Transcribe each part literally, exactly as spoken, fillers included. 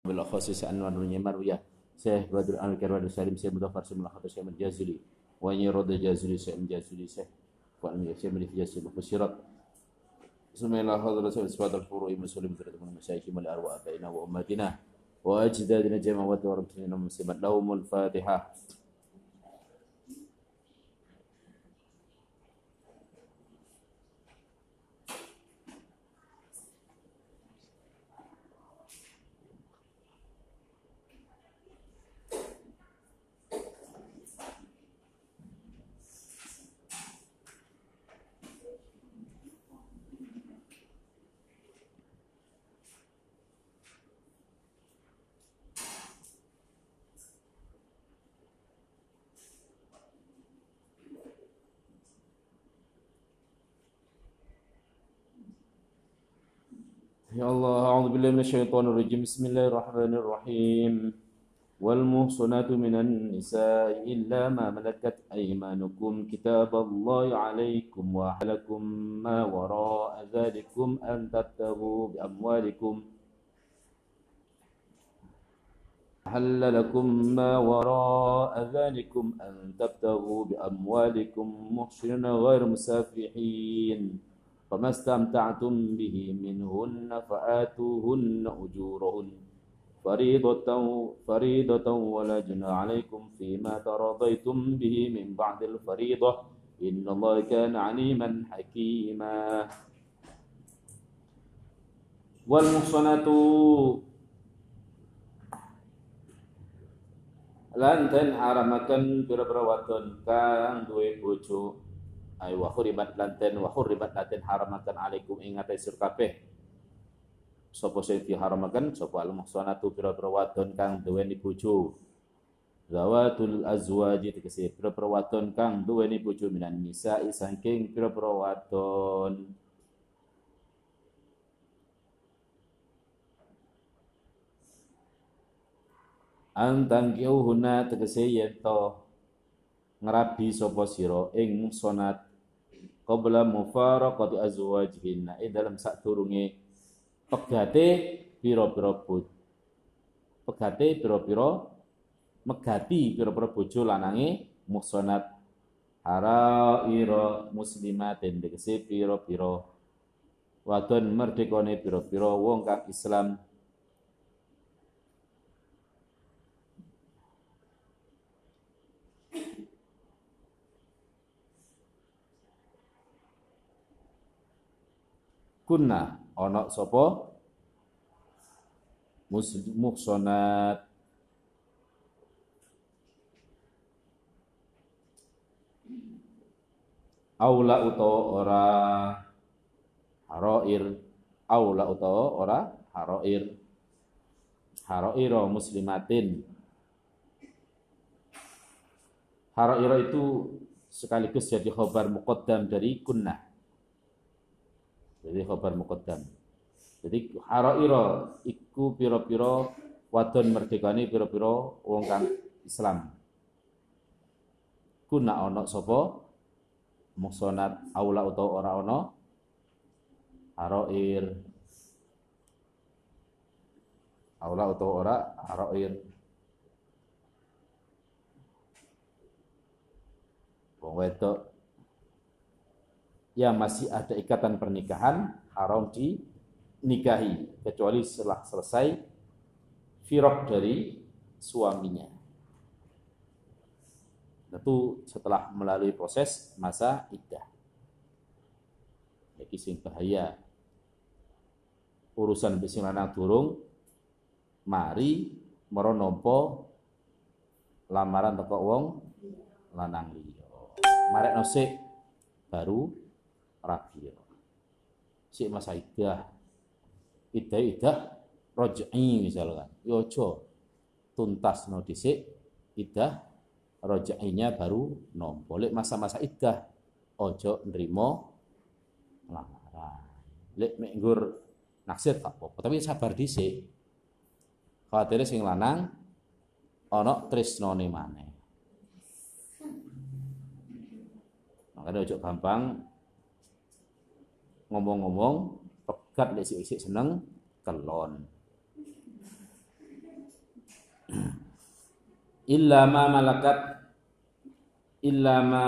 bil khasis anwar nyamar ya Syekh Badr Al-Karwad Salim Syekh Mudaffar Syekh Mulakhat Syekh Al-Jazuli wa yurad Jazuli Syekh Al-Jazuli Syekh wa Syekh Al-Jazuli Fusirat Bismillah hadrat Syekh al-Furu'i muslim terutama masyayikh mal arwah abaina wa ummatina wa ajdadina jama'at wa rabtina muslimat lahumul Fatihah. Ya Allah, a'udzubillahi minasyaitonirrajim. Bismillahirrahmanirrahim. Wal muhsanatu minan nisa'i illa ma malakat aymanukum kitaballahi 'alaikum wa halakum ma wara'a dzalikum an tabtaghu bi amwalikum حل لكم ما وراء ذلكم أن تبتغوا بأموالكم محسنين غير مسافحين فما استمتعتم به منهن فآتوهن أجورهن فريضة فريضة ولا جناح عليكم فيما تراضيتم به من بعد الفريضة إن الله كان عليما حكيما والمحصنات lan den haramaken pira-pira wadon kang duwe bojo ay wa hurimat lan den wa hurimat lan den haramaken alaikum ing atase sira kabeh sapa sing diharamaken sapa al muhsanatu pira-pira wadon kang duweni bojo zawatul azwaji tegese pira-pira wadon kang duweni bojo minan nisa saking pira-pira wadon antang kiuhuna tegese yen to ngrabi sapa sira ing sonat qabla mufaraqati azwajihinna ing dalam sadurunge pegate pira-pira bojo pegate pira-pira megati pira-pira bojo lanange muhsanat haraira muslimatin tegese pira-pira wadon merdekane pira-pira wong kang Islam kunna ana sapa muhsanat aula utawa ora harair aula utawa ora harair haraira muslimatin haraira itu sekaligus jadi khabar muqaddam dari kunna. Jadi khabar muqaddam. Jadi haraira iku pira-pira wadon merdekane pira-pira wong kang Islam. Kuna ana sapa muhsanat aula utawa ora ana harair. Aula utawa ora harair. Wong wedok ya masih ada ikatan pernikahan haram dinikahi kecuali setelah selesai firaq dari suaminya. Tentu setelah melalui proses masa iddah. Iki sing bahaya. Urusan sing lanang durung mari mara nampa lamaran teko wong lanang liya. Marekno sik baru rabi si masa iddah iddah iddah raj'i misalkan yo aja tuntasno dhisik iddah raj'inya baru nampa lek masa-masa iddah aja nrimo lamaran lek mek nggur naksir tak apa tapi sabar dhisik khawatir sing lanang ana tresnane maneh makane aja gampang ngomong-ngomong pegat lek sik-sik seneng kelon. illa ma malakat illa ma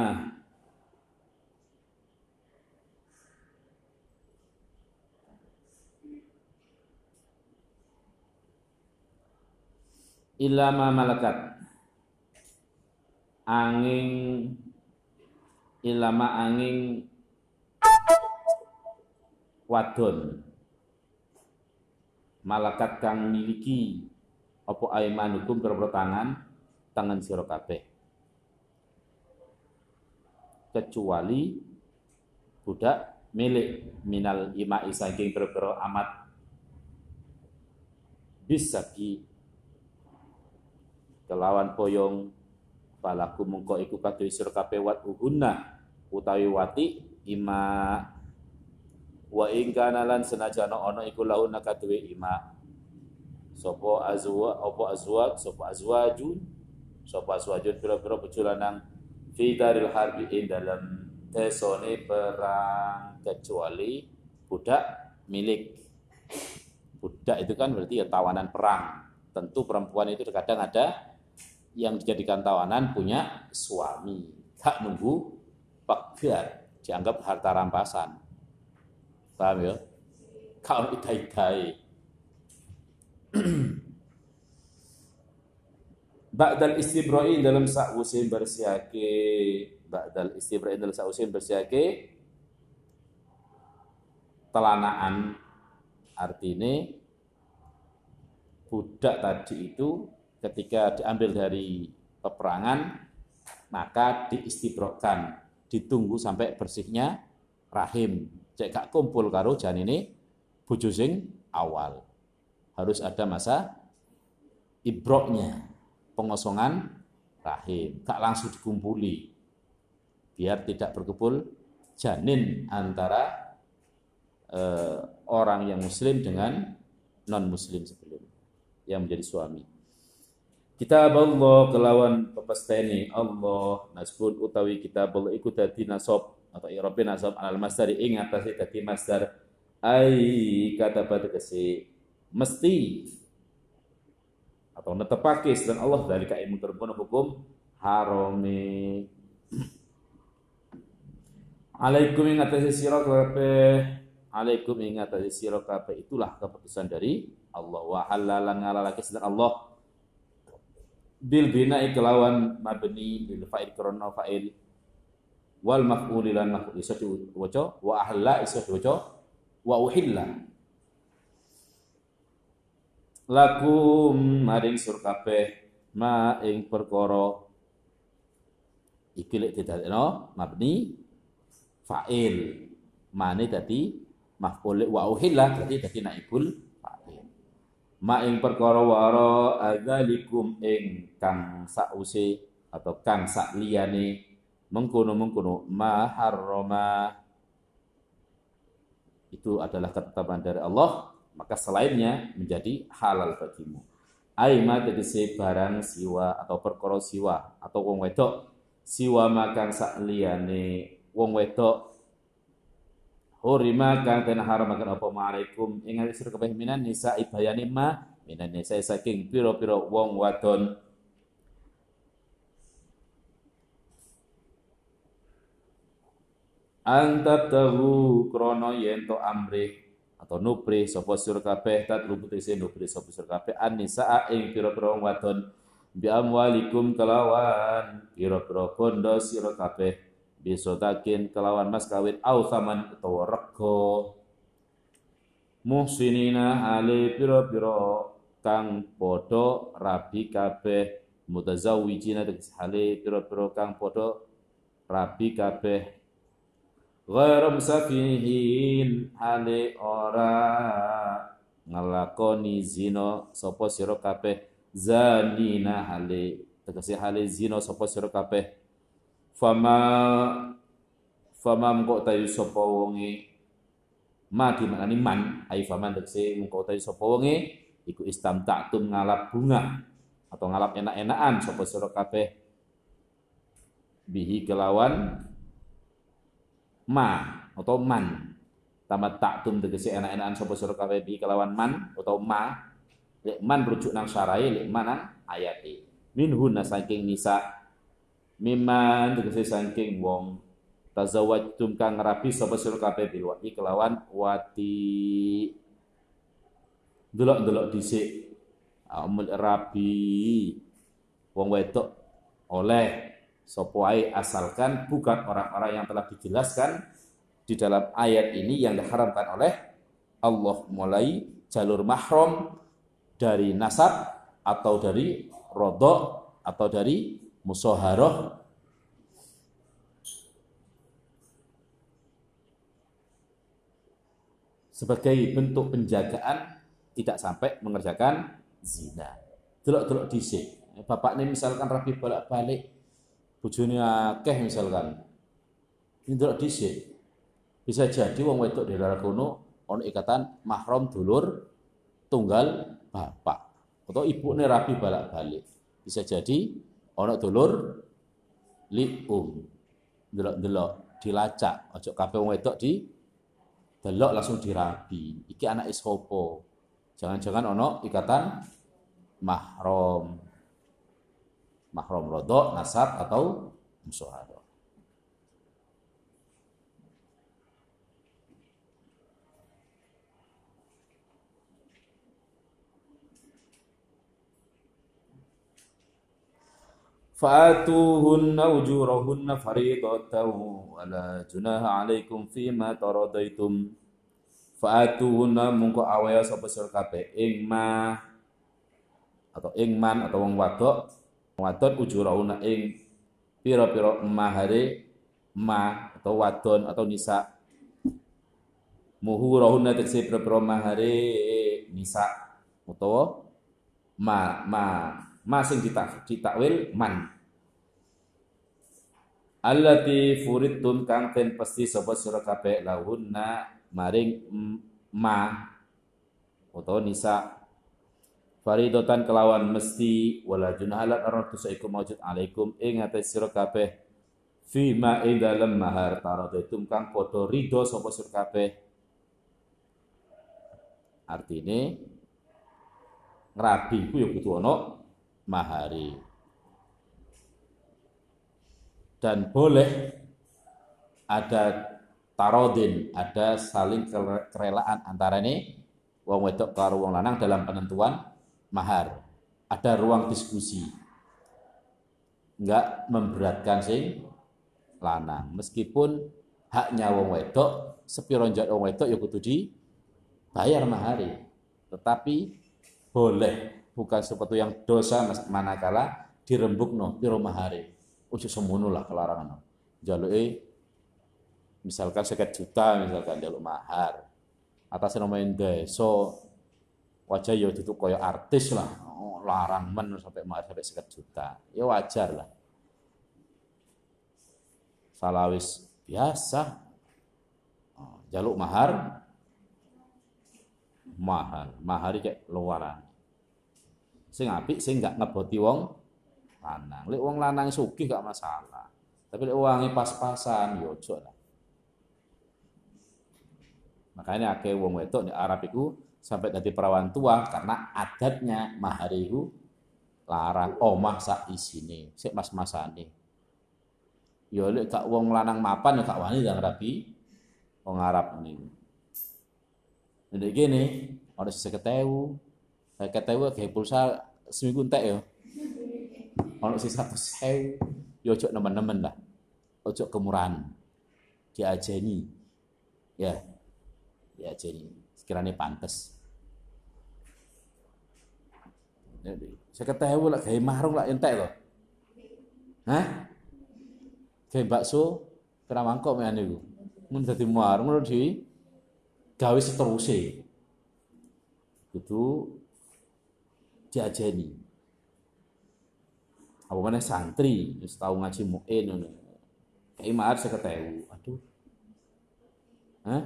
illa ma malakat angin illa ma angin wadon malakat kang miliki apa aimanukum pira-pira tangan tangan sira kabeh kecuali budak milik minal imai saking pira-pira amat bisaki kelawan poyong palaku mengko iku kadhe sira kabeh wat uhunna utawi wati ima wa ing kana lan senajana ana iku launa kadhe ima sapa azwa apa azwaj sapa azwajun sapa azwajun pira-pira bejulanang fi daril harbi ing dalam desone perang kecuali budak milik budak itu kan berarti ya tawanan perang. Tentu perempuan itu kadang ada yang dijadikan tawanan punya suami, tak nunggu pagar, dianggap harta rampasan. Paham ya? Kalau idai-idai. Ba'dal istibra'i dalam sa'usin bersiake, ba'dal istibra'i dalam sa'usin bersiake telanaan, artinya budak tadi itu ketika diambil dari peperangan maka diistibrokkan, ditunggu sampai bersihnya rahim. Cek gak kumpul karo janine bojo sing awal. Harus ada masa ibroknya, pengosongan rahim, gak langsung dikumpuli. Biar tidak berkumpul janin antara eh, orang yang muslim dengan non muslim sebelum yang menjadi suami. Kitab Allah kelawan pepesteni Allah nasbun utawi kitab Allah iku dadi nasab atau i'rabe nasab alal masdar ing atase dadi masdar ai kata tegese mesti atau netepake dan Allah dari kaimu terbun hukum harame alaikum ing atase sira kabeh alaikum ing atase sira kabeh itulah keputusan dari Allah wa halalan ngalalake sedang Allah bil bina'i kelawan mabni bil fa'il karena fa'il wal maf'ul lan maf'ul iso diwaca wa ahla iso diwaca wa uhilla lakum maring sur kabeh ma ing perkara iki lek didadekno mabni fa'il mane dadi maf'ul wa uhilla dadi dadi naibul ma ing perkara wara adzalikum ing kang sause atau kang sak liyane mengkono-mengkono ma harrama itu adalah ketetapan dari Allah maka selainnya menjadi halal bagimu aima tegese barang siwa atau perkara siwa atau wong wedok siwa makang sak liyane wong wedok hurima kang den haramaken apa ma'alaikum ing sira kabeh minan nisa ibayane ma minan nisa saking pira-pira wong wadon antab tahu krana yen to amrih atau nuprih sapa sira kabeh tatlubu tese nuprih sapa sira kabeh an-nisa ing pira-pira wong wadon bi amwalikum kelawan pira-pira bondo sira kabeh bisotakin kelawan mas kawin au saman utawa rego muhsinina ale pira-pira kang padha rabi kabeh mutazawwijina tegese hale pira-pira kang padha rabi kabeh ghairu musafihin hale ora ngelakoni zina sapa sira kabeh zanina hale tegese hale zina sapa sira kabeh fama fama mengko tayu sapa wonge ma dimaknani man ai faman tegese mengko tayu sapa wonge iku istamta'tum ngalap bunga atau ngalap enak-enakan sapa sira kabeh bihi kelawan ma atau man tamat ta'tum tegese enak-enakan sapa sira kabeh bihi kelawan man atau ma lek man rujuk nang syarae lek man nang ayate minhunna saking nisa miman tegese saking wong tazawwajtum kang rabi sapa sira kabeh bil wati kelawan wati delok-delok dhisik amul rabi wong wedok oleh sapa ae asalkan bukan orang-orang yang telah dijelaskan di dalam ayat ini yang diharamkan oleh Allah, mulai jalur mahram dari nasab atau dari rodok atau dari musaharah sebagai bentuk penjagaan tidak sampai mengerjakan zina. Delok-delok dhisik. Bapaknya misalkan rapi bolak-balik, bojone akeh misalkan. Ini delok dhisik. Bisa jadi wong wedok di daerah kono ono ikatan mahram dulur tunggal bapak. Atau ibune rapi bolak-balik. Bisa jadi ono dulur lium. Delok-delok dilacak, ojo kabeh wong wedok di delok langsung dirabi. Iki anak sapa? Jangan-jangan ono ikatan mahram. Mahram rodok, nasab atau musyawarah. Fa'atuhunna ujurahunna faridatan wa la junaha 'alaikum fima taradaitum. Fa'atuhunna mungko awaya sapa sira kabeh ing ma atau ing man atau wong wadok wadon ujurahunna ing pira-pira mahare ma atau wadon atau nisa muhurahunna tekse pira-pira mahare nisa utawa ma ma masing ditak ditakwil man allati furidtum kang ten pasti sapa sira kabeh lahunna maring ma utawa nisa faridatan kelawan mesti wala junahalat arad tusaikum maujud alaikum ing atas sira kabeh fi ma ing dalem mahar taradaitum kang padha ridho sapa sira kabeh. Artine ngrabi ku ya kudu ana mahari. Dan boleh ada tarodin, ada saling kerelaan antara ini wong wedok karo wong lanang dalam penentuan mahar. Ada ruang diskusi. Enggak memberatkan sing lanang. Meskipun haknya wong wedok, sepiro njak wong wedok ya kudu dibayar mahari. Tetapi boleh, bukan sesuatu yang dosa manakala dirembukno piro mahare. Ojo semono lah kelarangan. Jaluke misalkan seket juta misalkan jaluk mahar. Atas namanya desa wajah ya duduk kaya artis lah. Oh, larang men sampai mahar sampai seket juta. Ya wajar lah. Salawis biasa. Oh, jaluk mahar mahal, mahari kayak luaran. Sing apik sing gak ngeboti wong lanang. Lek wong lanang sugih gak masalah. Tapi lek wangi pas-pasan yo ojo lah. Makanya akeh wong wedok di Arab iku sampai dadi perawan tua karena adatnya mahar iku larang omah sak isine, sik mas-masane. Yo lek gak wong lanang mapan gak wani ndang rabi wong Arab niku. Nek gini, ora seket ewu. seket ewu gawe pulsa seminggu entek ya. Ono sing seratus ewu, ya ojo nemen-nemen lah. Ojo kemurahan. Diajeni. Ya. Diajeni. Sekiranya pantes. seket ewu lah gawe marung lah entek lho. Hah? Gawe bakso kira mangkok men niku. Mun dadi marung ngono di gawe seterusé. Kudu diajeni. Apa meneh santri wis tau ngaji muin ngono. Kayak mahar seket ewu. Aduh. Hah?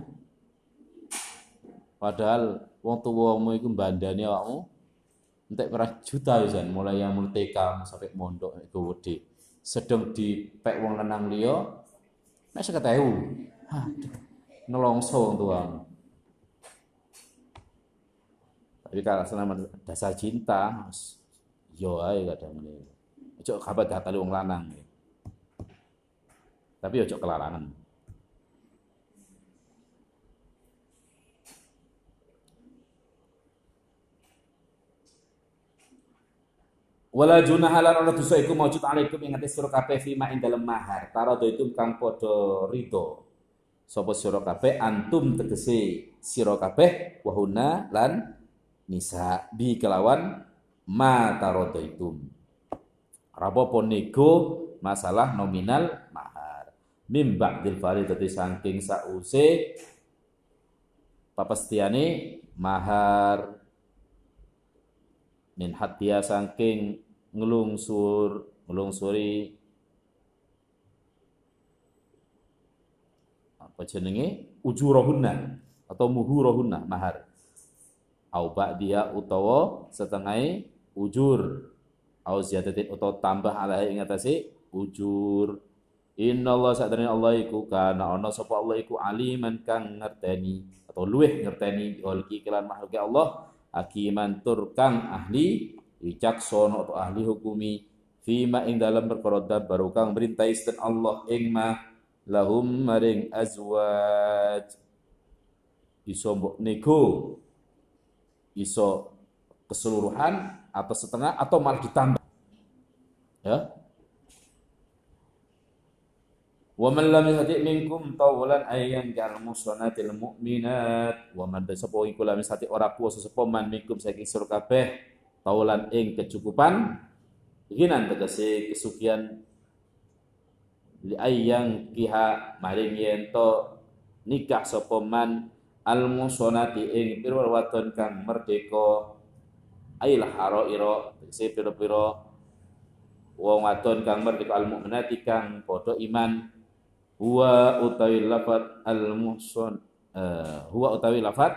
Padahal wong tuwamu iku mbandani awakmu entek berapa juta pisan mulai yang mulai T K sampai mondok iku gede. Sedeng dipek wong lanang liya mek seket ewu. Aduh. Nelongso wong tuamu. Tapi kalau selama dasar cinta, yo ae kadang ini. Ojo kabat hatali wong lanang. Tapi ojo kelarangan. Wala junaha lan ana dosa iku maujud alaikum ing atas sira kabeh fima ing dalem mahar. Tarado itu kang padha rido. Sapa sira kabeh antum tegese sira kabeh wahuna lan nisa bi kelawan ma tarado itu. Rapopo nego masalah nominal mahar. Mim ba'dil faridati saking sause papastiane mahar min hatia saking ngelungsur ngelungsuri apa jenenge ujurahunna atau muhurahunna mahar au ba'diya utawa setengah ujur au ziyadatin utawa tambah ala ing atase ujur. Innallaha sadane Allah iku kana ana sapa Allah iku aliman kang ngerteni atau luweh ngerteni holki kelan makhluk Allah hakiman tur kang ahli wicaksana atau ahli hukumi fima ing dalam perkara baru kang merintah isten Allah ing ma lahum maring azwaj iso mbok nego iso keseluruhan atau setengah atau malah ditambah ya. Wa man lam yahdi minkum tawlan ayyan kal musanatil mu'minat wa man sapa iku lam sati ora kuwasa sapa man minkum saking sira kabeh tawlan ing kecukupan ginan tegese kesugihan li ayyan kiha maring yen to nikah sapa man al musanati ing pira wadon kang merdeka ailah haraira tegese pira-pira wong wadon kang merdeka al mukminati kang padha iman. Huwa utawi lafat al-muhsan uh, huwa utawi lafat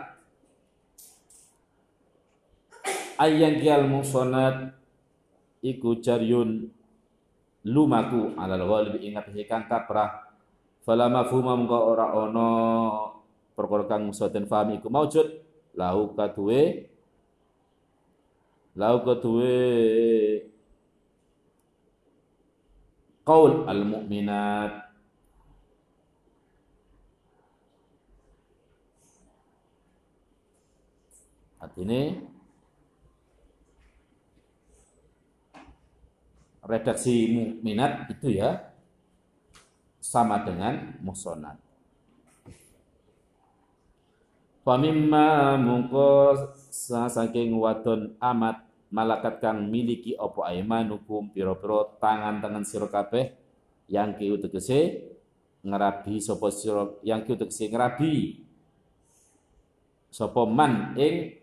ayyan al muhsanat iku jaryun lumaku alal ghalib ingat kang kaprah fala mafhuma mengko ora ana perkara kang soten paham iku maujud lahu kaduwe lahu kaduwe qaul al mukminat artinya redaksi mukminat itu ya sama dengan muhsanat. Famimma mungko saking wadon amat malakat kang miliki apa aimanukum pira-pira tangan-tangan sira kabeh yang ki tegese ngerabi sapa sira yang ki tegese ngerabi sapa man ing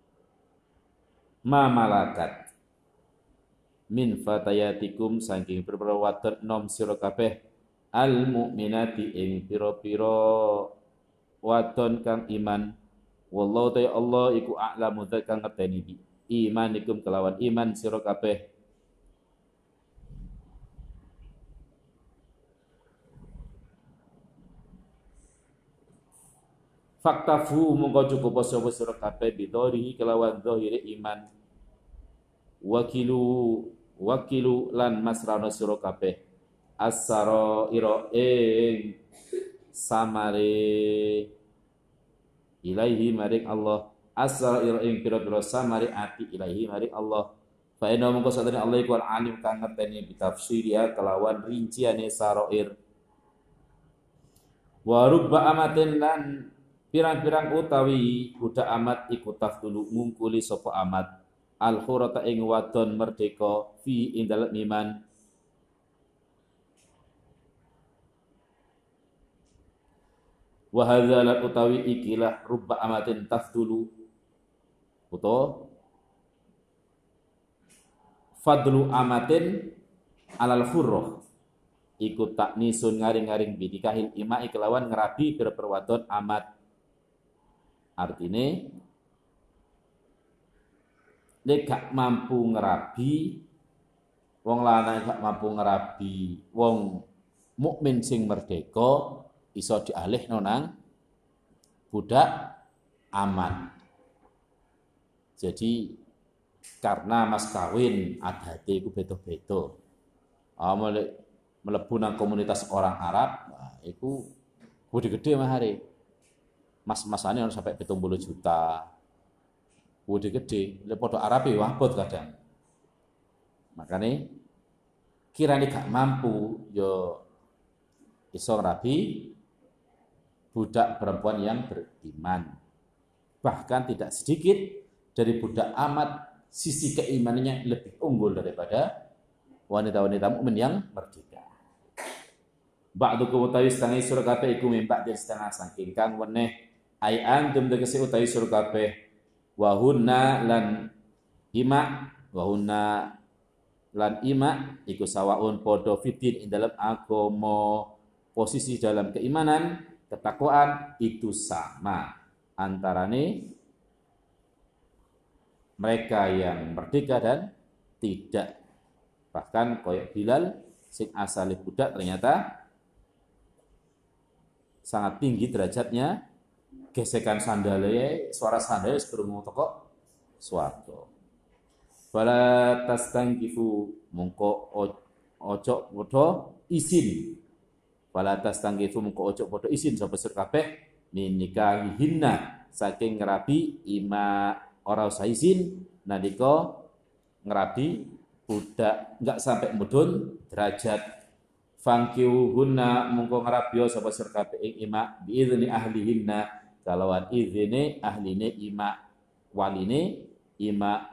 ma malakat min fatayatikum saking pira-pira wadon nom sira kabeh al mukminati ing pira-pira wadon kang iman wallahu ta Allah iku a'lamu dzat kang ngerteni bi imanikum kelawan iman sira kabeh faktafu mongko cukup sapa sira kabeh bidhari kelawan zahire iman wakilu wakilu lan masrana sira kabeh asara ira ing samare ilaihi maring Allah asara ira ing pira-pira samare ati ilaihi maring Allah fa inna mongko sadane Allah iku alim kang ngerteni bitafsiriya kelawan rinciane sarair wa rubba amatin lan pirang-pirang utawi budak amat iku tafdulu ngungkuli sapa amat al khurata ing wadon merdeka fi ing dalem iman wa hadza la utawi ikilah rubba amatin tafdulu utawa fadlu amatin alal khurrah iku taknisun ngaring-ngaring bidikahil ima kelawan ngerabi berperwadon amat artine nek gak mampu ngerabi wong lanang gak mampu ngerabi wong mukmin sing merdeka iso dialihno nang budak aman. Jadi karena mas kawin adate iku beda-beda. Amal mlebu nang komunitas orang Arab, nah, iku gede-gede mahare. Mas-masane harus sampai pitung puluh juta. Gede-gede, lek padha Arab ya wabot kadang. Makane kirane gak mampu yo iso ngrabi budak perempuan yang beriman. Bahkan tidak sedikit dari budak amat sisi keimanannya lebih unggul daripada wanita-wanita mukmin yang merdeka. Ba'dukum utawi setengah surga kabeh iku mimpak dari setengah saking kang weneh ai antum tegese utawi surga kabeh wa hunna lan ima wa hunna lan ima iku sawaun podo fitin ing dalam agama, posisi dalam keimanan, ketakwaan itu sama antarane mereka yang merdeka dan tidak. Bahkan koyok Bilal sing asale budak ternyata sangat tinggi derajatnya, gesekan sandalnya, suara sandalnya sekrungu toko swarga. Fala tastangkifu mongko ojo padha izin. Fala tastangkifu mongko ojo padha izin sapa sir kabeh nikahihinna saking ngerabi ima ora usah izin nalika ngerabi budak enggak sampai mudhun derajat. Fangkiuhunna mongko ngrabya sapa sir kabeh ing ima biizni ahlihinna kalawan izine ahline ima waline ima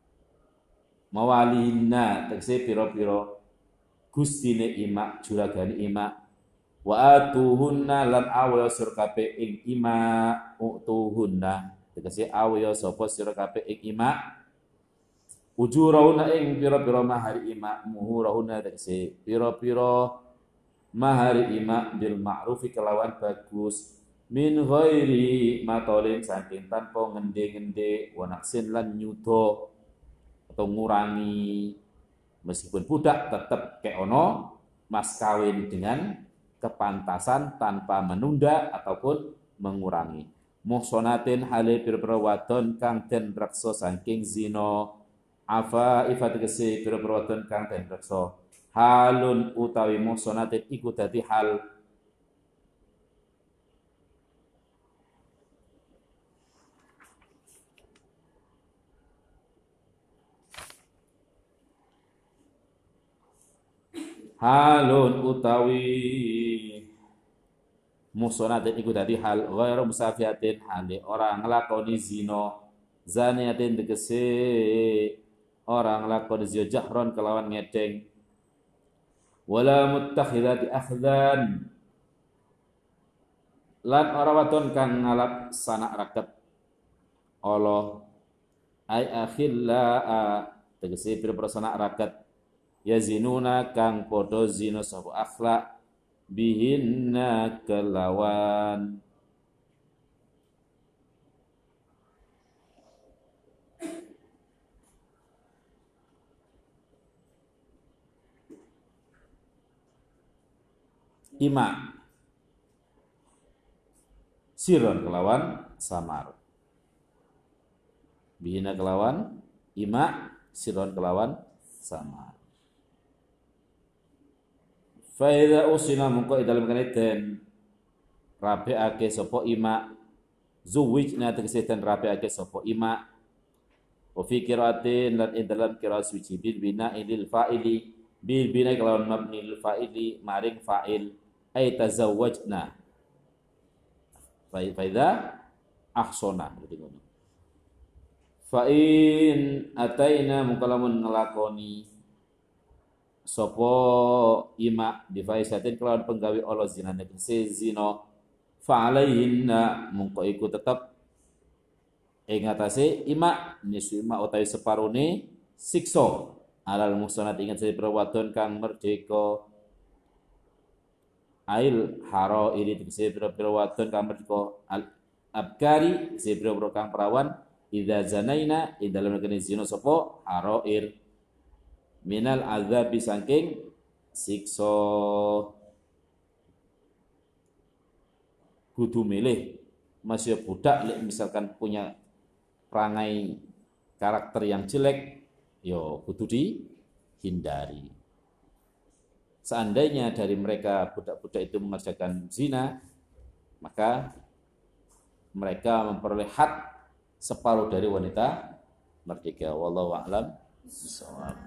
mawalihinna tegese pira-pira gustine ima juragane ima wa atuhunna lan awya sir kabeh ing ima utuhunna tegese awya sapa sira kabeh ing ima ujurahuna ing pira-pira mahari ima muhurahuna tegese pira-pira mahari ima bil ma'rufi kelawan bagus min ghairi matolin saking tanpa ngende-ngende wa naksin lan nyuda atau ngurangi. Meskipun budak tetap kayak ono mas kawin dengan kepantasan tanpa menunda ataupun mengurangi. Muhsonatin hale pira-pira wadon kang den reksa saking zina afa ifat kese pira-pira wadon kang den reksa halun utawi muhsonatin iku dadi hal halun utawi muhsonatin iku dadi hal ghairu musafiatin hale orang nglakoni zina zaniatin tegese orang nglakoni zina jahron kelawan ngedeng wala muttakhidati akhdan lan ora wadon kang ngalap sanak raket Allah ai akhilla tegese pira-pira sanak raket yazinuna kang podo zina sapa akhlak bihinna kelawan ima siron kelawan samar bihina kelawan ima siron kelawan samar. Faida usina mungko dalam kaniten rabiake sapa ima zuwijna tegese den rabiake sapa ima wa fi qiraatin lan dalam qiraat suci bil bina lil fa'ili bil bina kelawan mabni lil fa'ili maring fa'il ay tazawwajna faida ahsona gitu ngono. Fa in ataina mungko lamun nglakoni sopo ima bifaisatin kelawan penggawe Allah zina negese zina fa alaihinna mungko iku tetep ing atase ima nisu ima utawi separone siksa alal muhsanat ingat saya perwadon kang merdeka ail haro ini tegese perwadon kang merdeka al abkari sebro kang perawan idza zanaina ing dalem negene zina sapa haroir minal azab saking siksa. Kudu milih masih budak misalkan punya perangai karakter yang jelek yo kudu dihindari. seandainya dari mereka budak-budak itu mengerjakan zina, maka mereka memperoleh hak separuh dari wanita merdeka. Wallahu a'lam bishawab.